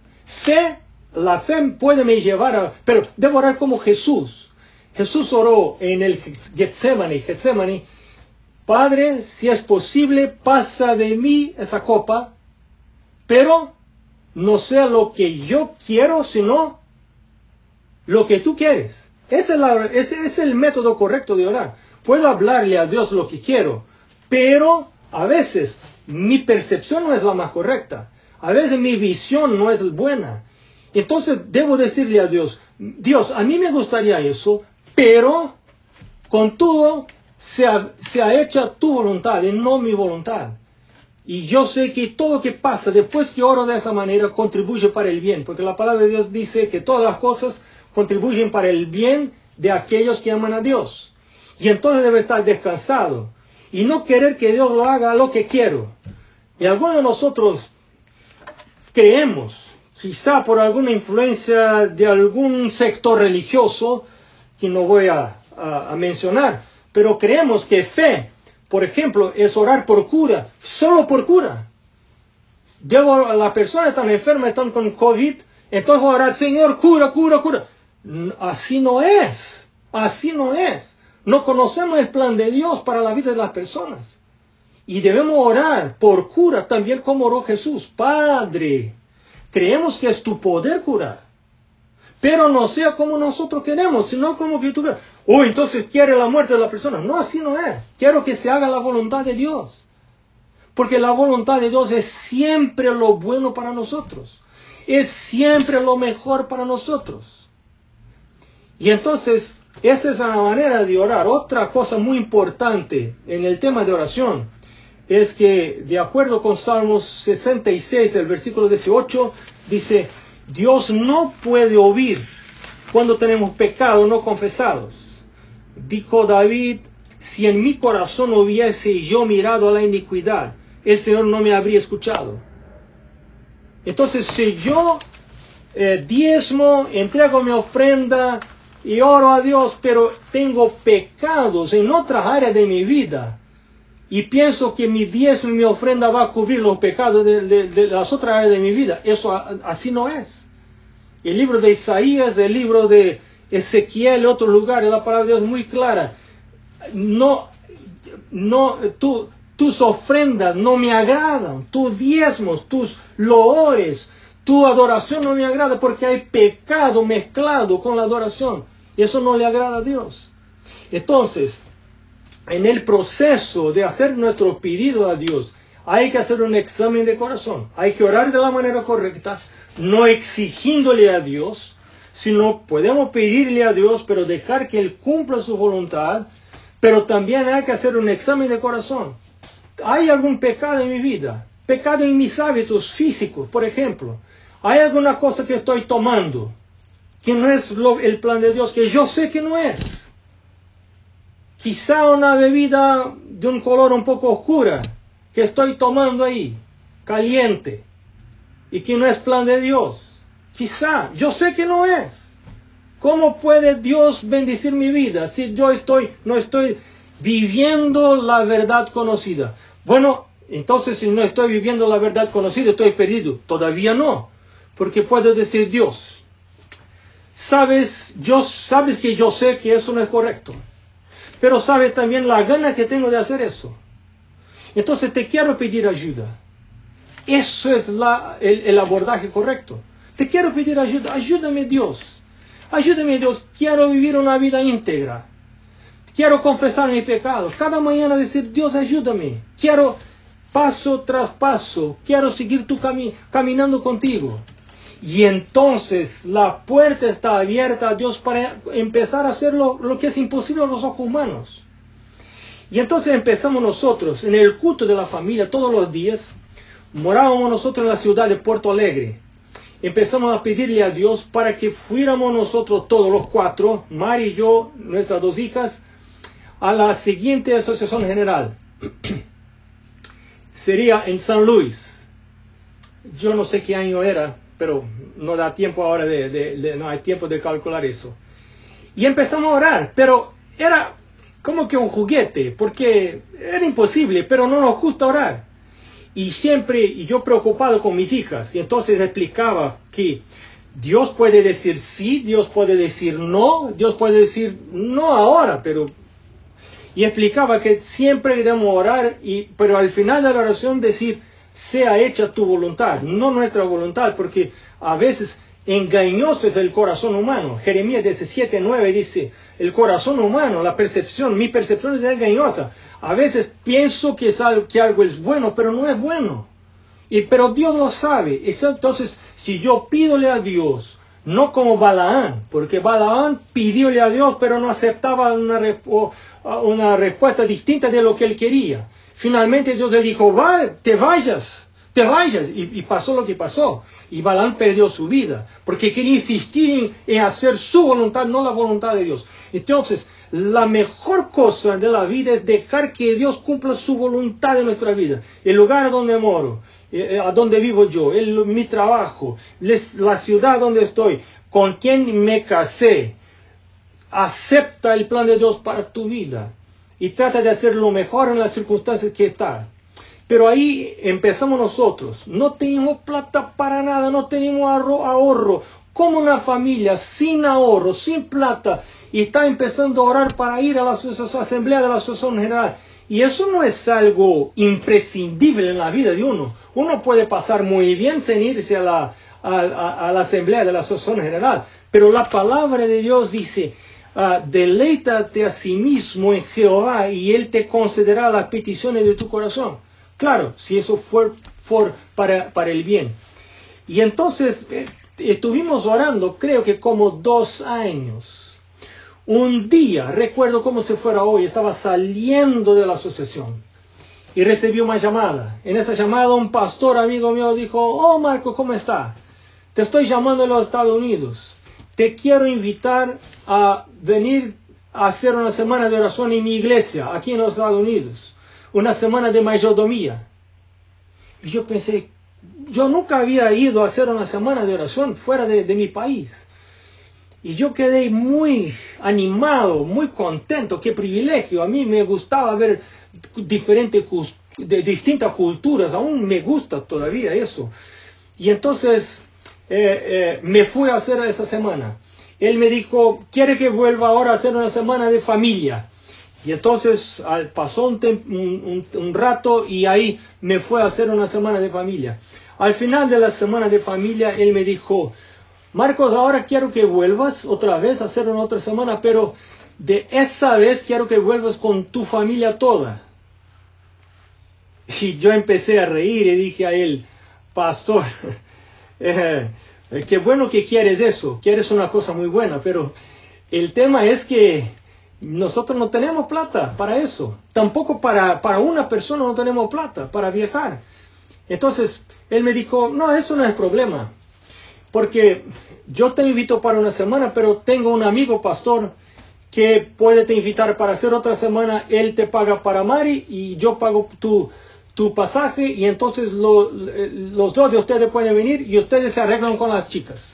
La fe puede me llevar a... Pero debo orar como Jesús. Jesús oró en el Getsemaní. Padre, si es posible, pasa de mí esa copa, pero no sea lo que yo quiero, sino lo que tú quieres. Ese es el método correcto de orar. Puedo hablarle a Dios lo que quiero, pero a veces mi percepción no es la más correcta. A veces mi visión no es buena. Entonces debo decirle a Dios, Dios, a mí me gustaría eso, pero con todo sea hecha tu voluntad y no mi voluntad. Y yo sé que todo lo que pasa después que oro de esa manera contribuye para el bien, porque la palabra de Dios dice que todas las cosas contribuyen para el bien de aquellos que aman a Dios. Y entonces debe estar descansado y no querer que Dios lo haga lo que quiero. Y algunos de nosotros creemos, quizá por alguna influencia de algún sector religioso, que no voy a mencionar, pero creemos que fe, por ejemplo, es orar por cura, solo por cura. La persona está enferma, está con COVID, entonces voy a orar, Señor, cura. Así no es. No conocemos el plan de Dios para la vida de las personas. Y debemos orar por cura también como oró Jesús. Padre, creemos que es tu poder curar, pero no sea como nosotros queremos, sino como que tú veas. Entonces quiere la muerte de la persona. No, así no es. Quiero que se haga la voluntad de Dios. Porque la voluntad de Dios es siempre lo bueno para nosotros. Es siempre lo mejor para nosotros. Y entonces, esa es la manera de orar. Otra cosa muy importante en el tema de oración es que, de acuerdo con Salmos 66, el versículo 18, dice, Dios no puede oír cuando tenemos pecados no confesados. Dijo David, si en mi corazón hubiese yo mirado a la iniquidad, el Señor no me habría escuchado. Entonces, si yo diezmo, entrego mi ofrenda y oro a Dios, pero tengo pecados en otras áreas de mi vida, y pienso que mi diezmo y mi ofrenda va a cubrir los pecados de las otras áreas de mi vida, eso así no es. El libro de Isaías, el libro de Ezequiel, otros lugares, la palabra de Dios es muy clara. Tus ofrendas no me agradan, tus diezmos, tus loores, tu adoración no me agrada, porque hay pecado mezclado con la adoración. Y eso no le agrada a Dios. Entonces, en el proceso de hacer nuestro pedido a Dios, hay que hacer un examen de corazón. Hay que orar de la manera correcta, no exigiéndole a Dios, sino podemos pedirle a Dios, pero dejar que Él cumpla su voluntad. Pero también hay que hacer un examen de corazón. ¿Hay algún pecado en mi vida? Pecado en mis hábitos físicos, por ejemplo. ¿Hay alguna cosa que estoy tomando que no es el plan de Dios, que yo sé que no es? Quizá una bebida de un color un poco oscura que estoy tomando ahí, caliente, y que no es plan de Dios. Quizá, yo sé que no es. ¿Cómo puede Dios bendecir mi vida si yo no estoy viviendo la verdad conocida? Bueno, entonces si no estoy viviendo la verdad conocida, estoy perdido. Todavía no, porque puedo decir, Dios, sabes que yo sé que eso no es correcto, pero sabes también la gana que tengo de hacer eso. Entonces te quiero pedir ayuda. Eso es el abordaje correcto. Te quiero pedir ayuda. Ayúdame, Dios. Ayúdame, Dios. Quiero vivir una vida íntegra. Quiero confesar mi pecado. Cada mañana decir, Dios, ayúdame. Quiero paso tras paso. Quiero seguir caminando contigo. Y entonces la puerta está abierta a Dios para empezar a hacer lo que es imposible a los ojos humanos. Y entonces empezamos nosotros en el culto de la familia todos los días. Morábamos nosotros en la ciudad de Puerto Alegre. empezamos a pedirle a Dios para que fuéramos nosotros todos los cuatro, Mari y yo, nuestras dos hijas, a la siguiente asociación general. Sería en San Luis. Yo no sé qué año era, pero no da tiempo ahora no hay tiempo de calcular eso. Y empezamos a orar, pero era como que un juguete, porque era imposible, pero no nos gusta orar. Y yo preocupado con mis hijas, y entonces explicaba que Dios puede decir sí, Dios puede decir no, Dios puede decir no ahora, pero... Y explicaba que siempre debemos orar, pero al final de la oración decir, sea hecha tu voluntad, no nuestra voluntad, porque a veces engañoso es el corazón humano. Jeremías 17:9 dice, el corazón humano, mi percepción es engañosa. A veces pienso que algo es bueno, pero no es bueno. Pero Dios lo sabe. Entonces, si yo pídole a Dios, no como Balaán, porque Balaán pidióle a Dios, pero no aceptaba una respuesta distinta de lo que él quería. Finalmente Dios le dijo, te vayas, y pasó lo que pasó. Y Balaán perdió su vida, porque quería insistir en hacer su voluntad, no la voluntad de Dios. Entonces, la mejor cosa de la vida es dejar que Dios cumpla su voluntad en nuestra vida. El lugar donde moro, a donde vivo yo, mi trabajo, la ciudad donde estoy, con quien me casé, acepta el plan de Dios para tu vida y trata de hacer lo mejor en las circunstancias que está. Pero ahí empezamos nosotros, no tenemos plata para nada, no tenemos ahorro, como una familia sin ahorro, sin plata, y está empezando a orar para ir a la asamblea de la asociación general. Y eso no es algo imprescindible en la vida de uno. Uno puede pasar muy bien sin irse a la asamblea de la asociación general, pero la palabra de Dios dice, deleítate a sí mismo en Jehová y Él te concederá las peticiones de tu corazón. Claro, si eso fue para el bien. Y entonces estuvimos orando, creo que como 2 años. Un día, recuerdo como si fuera hoy, estaba saliendo de la asociación y recibí una llamada. En esa llamada un pastor amigo mío dijo, oh Marco, ¿cómo está? Te estoy llamando de los Estados Unidos. Te quiero invitar a venir a hacer una semana de oración en mi iglesia, aquí en los Estados Unidos. Una semana de mayordomía. Y yo pensé, yo nunca había ido a hacer una semana de oración fuera de mi país. Y yo quedé muy animado, muy contento, qué privilegio. A mí me gustaba ver distintas culturas, aún me gusta todavía eso. Y entonces me fui a hacer esa semana. Él me dijo, ¿quiere que vuelva ahora a hacer una semana de familia? Y entonces pasó un rato y ahí me fue a hacer una semana de familia. Al final de la semana de familia, él me dijo, Marcos, ahora quiero que vuelvas otra vez a hacer una otra semana, pero de esa vez quiero que vuelvas con tu familia toda. Y yo empecé a reír y dije a él, pastor, qué bueno que quieres eso, quieres una cosa muy buena, pero el tema es que nosotros no tenemos plata para eso, tampoco para una persona no tenemos plata para viajar. Entonces él me dijo, no, eso no es problema. Porque yo te invito para una semana, pero tengo un amigo pastor que puede te invitar para hacer otra semana. Él te paga para Mari y yo pago tu pasaje y entonces los dos de ustedes pueden venir y ustedes se arreglan con las chicas.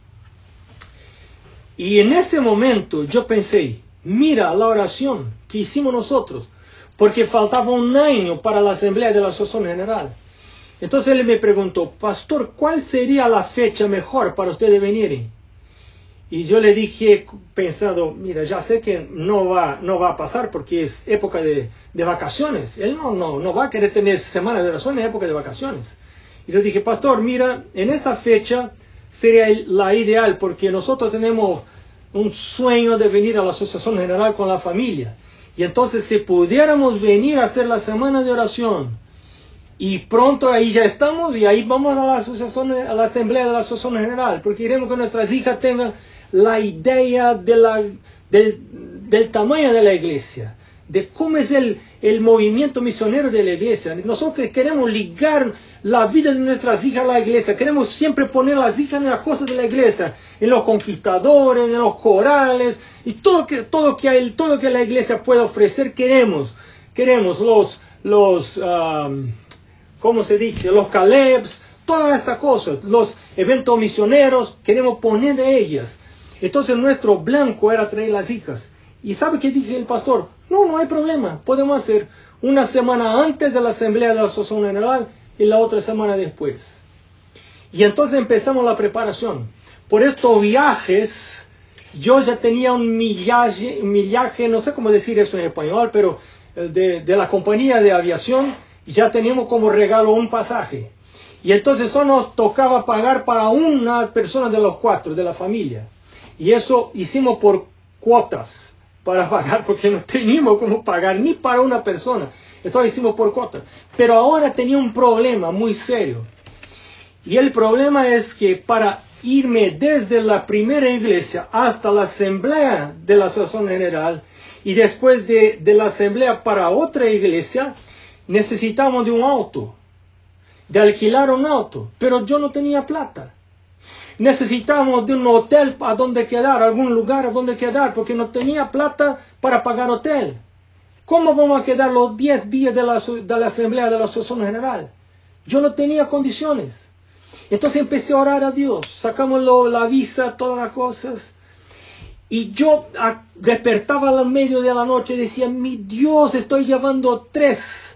Y en ese momento yo pensé, mira la oración que hicimos nosotros, porque faltaba 1 año para la asamblea de la asociación general. Entonces él me preguntó, pastor, ¿cuál sería la fecha mejor para ustedes venir? Y yo le dije, pensando, mira, ya sé que no va a pasar porque es época de vacaciones. Él no va a querer tener semana de oración en época de vacaciones. Y le dije, pastor, mira, en esa fecha sería la ideal porque nosotros tenemos un sueño de venir a la asociación general con la familia. Y entonces si pudiéramos venir a hacer la semana de oración, y pronto ahí ya estamos y ahí vamos a la asamblea de la asociación general, porque queremos que nuestras hijas tengan la idea del tamaño de la iglesia, de cómo es el movimiento misionero de la iglesia. Nosotros queremos ligar la vida de nuestras hijas a la iglesia, queremos siempre poner a las hijas en las cosas de la iglesia, en los conquistadores, en los corales, y todo que la iglesia puede ofrecer, queremos ¿cómo se dice? Los Calebs, todas estas cosas, los eventos misioneros, queremos poner de ellas. Entonces nuestro blanco era traer las hijas. ¿Y sabe qué dije el pastor? No hay problema, podemos hacer una semana antes de la asamblea de la Asociación General y la otra semana después. Y entonces empezamos la preparación. Por estos viajes, yo ya tenía un millaje, no sé cómo decir eso en español, pero de la compañía de aviación, ya teníamos como regalo un pasaje. Y entonces solo nos tocaba pagar para una persona de los 4, de la familia. Y eso hicimos por cuotas para pagar, porque no teníamos cómo pagar ni para una persona. Entonces hicimos por cuotas. Pero ahora tenía un problema muy serio. Y el problema es que para irme desde la primera iglesia hasta la asamblea de la Asociación General y después de la asamblea para otra iglesia, necesitamos de un auto, de alquilar un auto, pero yo no tenía plata. Necesitamos de un hotel a donde quedar, algún lugar a donde quedar, porque no tenía plata para pagar hotel. ¿Cómo vamos a quedar los 10 días de la asamblea de la Asociación General? Yo no tenía condiciones. Entonces empecé a orar a Dios, sacamos la visa, todas las cosas. Y yo despertaba a la medio de la noche y decía, mi Dios, estoy llevando 3.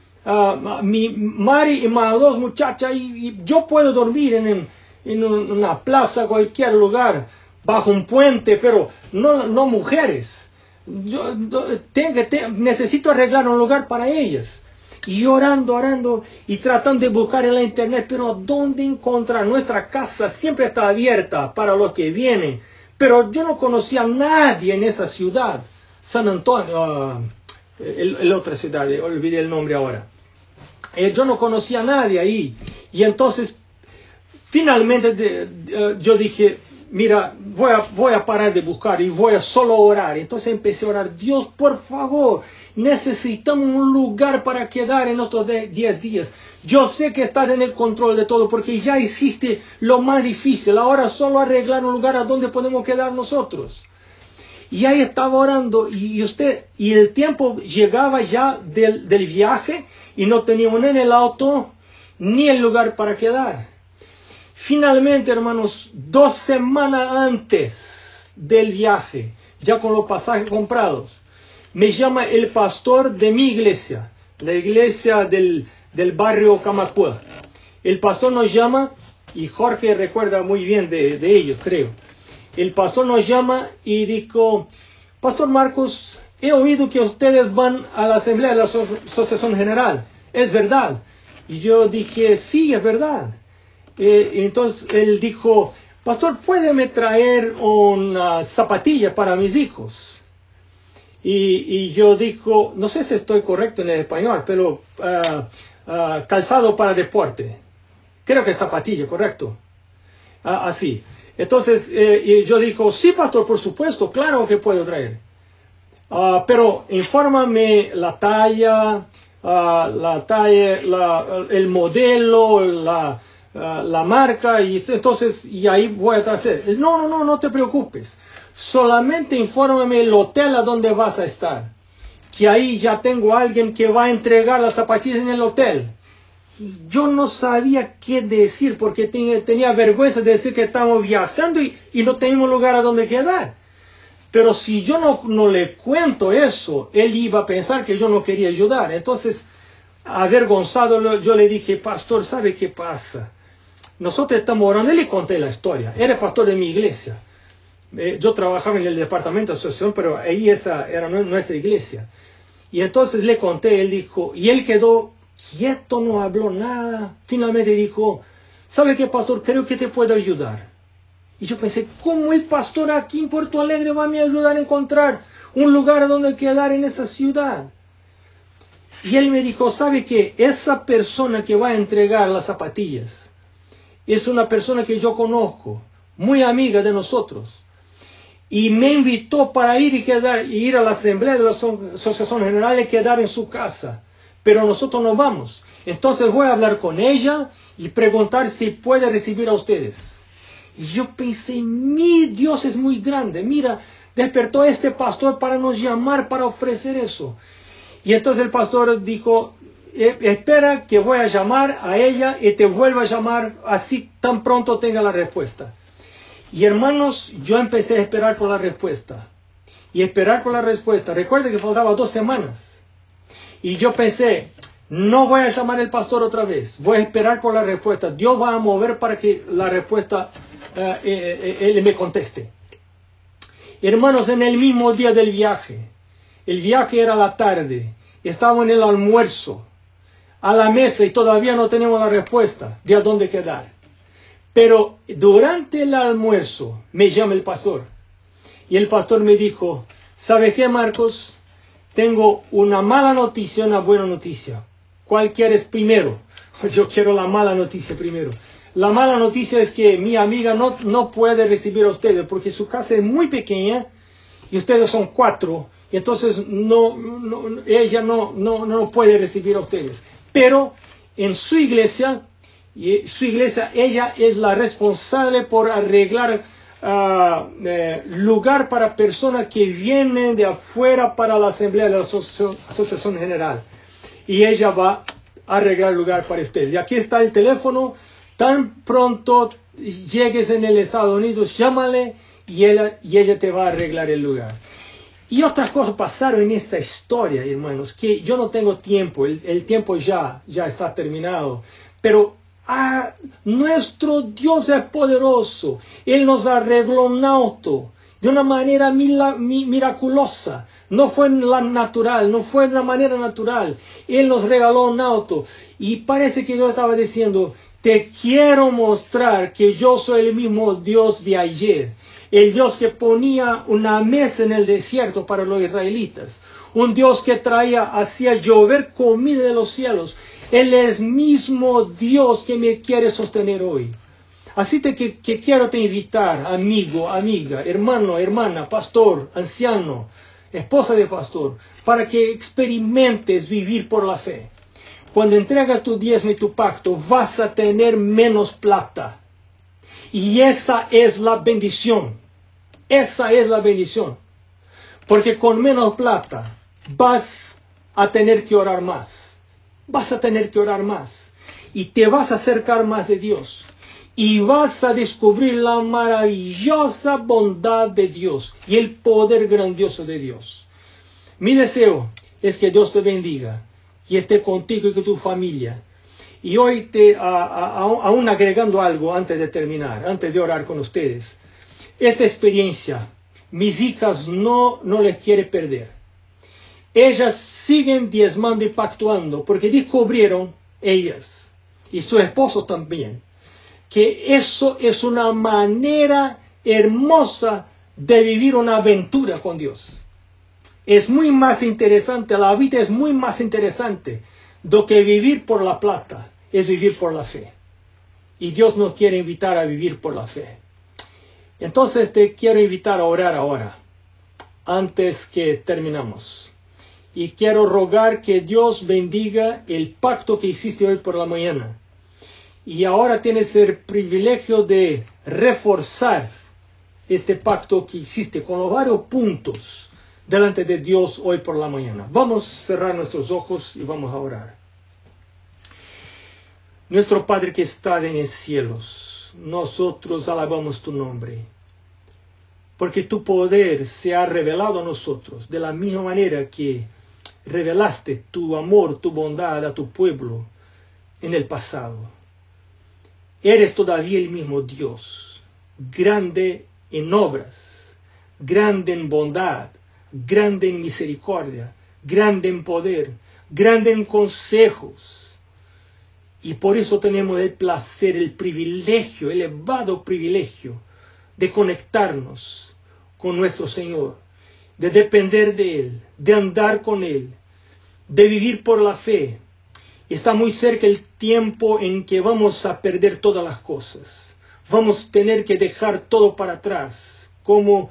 Mi Mari y más 2 muchachas, y yo puedo dormir en una plaza, cualquier lugar, bajo un puente, pero no mujeres. Yo necesito arreglar un lugar para ellas. Y orando y tratando de buscar en la internet, pero ¿dónde encontrar? Nuestra casa siempre está abierta para los que vienen, pero yo no conocía a nadie en esa ciudad, San Antonio, la otra ciudad, olvidé el nombre ahora. Yo no conocía a nadie ahí. Y entonces, finalmente yo dije, mira, voy a parar de buscar y voy a solo orar. Entonces empecé a orar, Dios, por favor, necesitamos un lugar para quedar en estos 10 días. Yo sé que estás en el control de todo porque ya hiciste lo más difícil. Ahora solo arreglar un lugar a donde podemos quedar nosotros. Y ahí estaba orando y el tiempo llegaba ya del viaje y no teníamos ni el auto ni el lugar para quedar. Finalmente, hermanos, 2 semanas antes del viaje, ya con los pasajes comprados, me llama el pastor de mi iglesia, la iglesia del barrio Camacuá. El pastor nos llama, y Jorge recuerda muy bien de ellos, creo. El pastor nos llama y dijo, Pastor Marcos, he oído que ustedes van a la asamblea de la Asociación General. ¿Es verdad? Y yo dije, sí, es verdad. Entonces él dijo, Pastor, ¿puede traer una zapatilla para mis hijos? Y yo digo, no sé si estoy correcto en el español, pero calzado para deporte. Creo que zapatilla, correcto. Así. Entonces yo digo, sí, pastor, por supuesto, claro que puedo traer. Pero infórmame la talla, el modelo, la marca, y entonces y ahí voy a traer. No te preocupes. Solamente infórmame el hotel a donde vas a estar. Que ahí ya tengo a alguien que va a entregar las zapatillas en el hotel. Yo no sabía qué decir porque tenía vergüenza de decir que estábamos viajando y no teníamos lugar a donde quedar. Pero si yo no le cuento eso, él iba a pensar que yo no quería ayudar. Entonces, avergonzado, yo le dije, pastor, ¿sabe qué pasa? Nosotros estamos orando. Y le conté la historia. Era pastor de mi iglesia. Yo trabajaba en el departamento de asociación, pero ahí esa era nuestra iglesia. Y entonces le conté, él dijo, y él quedó quieto, no habló nada. Finalmente dijo, ¿sabe qué, pastor? Creo que te puedo ayudar. Y yo pensé, ¿cómo el pastor aquí en Puerto Alegre va a me ayudar a encontrar un lugar donde quedar en esa ciudad? Y él me dijo, ¿sabe qué? Esa persona que va a entregar las zapatillas es una persona que yo conozco, muy amiga de nosotros. y me invitó para ir a la asamblea de la Asociación General y quedar en su casa. Pero nosotros no vamos. Entonces voy a hablar con ella y preguntar si puede recibir a ustedes. Y yo pensé, mi Dios es muy grande. Mira, despertó a este pastor para nos llamar, para ofrecer eso. Y entonces el pastor dijo, espera que voy a llamar a ella y te vuelvo a llamar así tan pronto tenga la respuesta. Y hermanos, yo empecé a esperar por la respuesta. Y esperar por la respuesta. Recuerden que faltaba 2 semanas. Y yo pensé, no voy a llamar al pastor otra vez. Voy a esperar por la respuesta. Dios va a mover para que la respuesta, él me conteste. Hermanos, en el mismo día del viaje. El viaje era a la tarde. Estaba en el almuerzo. A la mesa y todavía no tenemos la respuesta de a dónde quedar. Pero durante el almuerzo me llama el pastor. Y el pastor me dijo, ¿sabe qué, Marcos? Tengo una mala noticia y una buena noticia. ¿Cuál quieres primero? Yo quiero la mala noticia primero. La mala noticia es que mi amiga no puede recibir a ustedes porque su casa es muy pequeña y ustedes son 4. Y entonces ella no puede recibir a ustedes. Pero en su iglesia, ella es la responsable por arreglar lugar para personas que vienen de afuera para la asamblea de la Asociación General. Y ella va a arreglar lugar para ustedes. Y aquí está el teléfono. Tan pronto llegues en el Estados Unidos, llámale y ella te va a arreglar el lugar. Y otras cosas pasaron en esta historia, hermanos, que yo no tengo tiempo, el tiempo ya está terminado, pero nuestro Dios es poderoso. Él nos arregló un auto de una manera miraculosa. No fue no fue de una manera natural. Él nos regaló un auto. Y parece que yo estaba diciendo, te quiero mostrar que yo soy el mismo Dios de ayer. El Dios que ponía una mesa en el desierto para los israelitas. Un Dios que hacía llover comida de los cielos. Él es el mismo Dios que me quiere sostener hoy. Así que quiero te invitar, amigo, amiga, hermano, hermana, pastor, anciano, esposa de pastor, para que experimentes vivir por la fe. Cuando entregas tu diezmo y tu pacto, vas a tener menos plata. Y esa es la bendición. Esa es la bendición. Porque con menos plata vas a tener que orar más. Vas a tener que orar más. Y te vas a acercar más de Dios. Y vas a descubrir la maravillosa bondad de Dios y el poder grandioso de Dios. Mi deseo es que Dios te bendiga y esté contigo y con tu familia. Y hoy aún agregando algo antes de terminar, antes de orar con ustedes. Esta experiencia, mis hijas no les quiere perder. Ellas siguen diezmando y pactuando porque descubrieron, ellas y su esposo también, que eso es una manera hermosa de vivir una aventura con Dios. Es muy más interesante, la vida es muy más interesante do que vivir por la plata, es vivir por la fe. Y Dios nos quiere invitar a vivir por la fe. Entonces te quiero invitar a orar ahora, antes que terminamos. Y quiero rogar que Dios bendiga el pacto que hiciste hoy por la mañana. Y ahora tienes el privilegio de reforzar este pacto que hiciste con los varios puntos delante de Dios hoy por la mañana. Vamos a cerrar nuestros ojos y vamos a orar. Nuestro Padre que está en los cielos, nosotros alabamos tu nombre, porque tu poder se ha revelado a nosotros de la misma manera que revelaste tu amor, tu bondad a tu pueblo en el pasado. Eres todavía el mismo Dios, grande en obras, grande en bondad, grande en misericordia, grande en poder, grande en consejos. Y por eso tenemos el placer, el privilegio, el elevado privilegio de conectarnos con nuestro Señor, de depender de Él, de andar con Él, de vivir por la fe. Está muy cerca el tiempo en que vamos a perder todas las cosas. Vamos a tener que dejar todo para atrás, como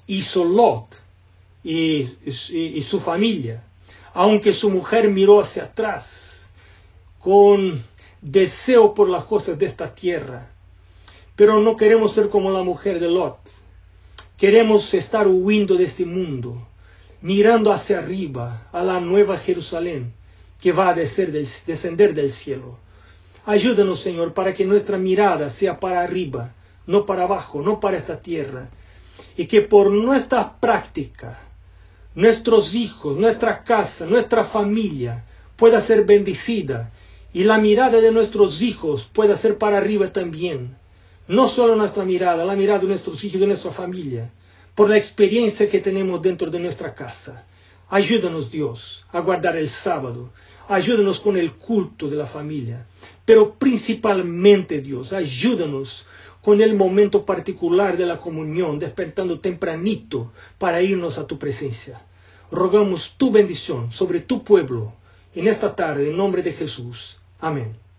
hizo Lot y su familia. Aunque su mujer miró hacia atrás con deseo por las cosas de esta tierra, pero no queremos ser como la mujer de Lot. Queremos estar huyendo de este mundo, mirando hacia arriba a la nueva Jerusalén que va a descender del cielo. Ayúdanos, Señor, para que nuestra mirada sea para arriba, no para abajo, no para esta tierra, y que por nuestra práctica, nuestros hijos, nuestra casa, nuestra familia pueda ser bendecida, y la mirada de nuestros hijos pueda ser para arriba también. No solo nuestra mirada, la mirada de nuestros hijos y de nuestra familia, por la experiencia que tenemos dentro de nuestra casa. Ayúdanos, Dios, a guardar el sábado. Ayúdanos con el culto de la familia. Pero principalmente, Dios, ayúdanos con el momento particular de la comunión, despertando tempranito para irnos a tu presencia. Rogamos tu bendición sobre tu pueblo en esta tarde, en nombre de Jesús. Amén.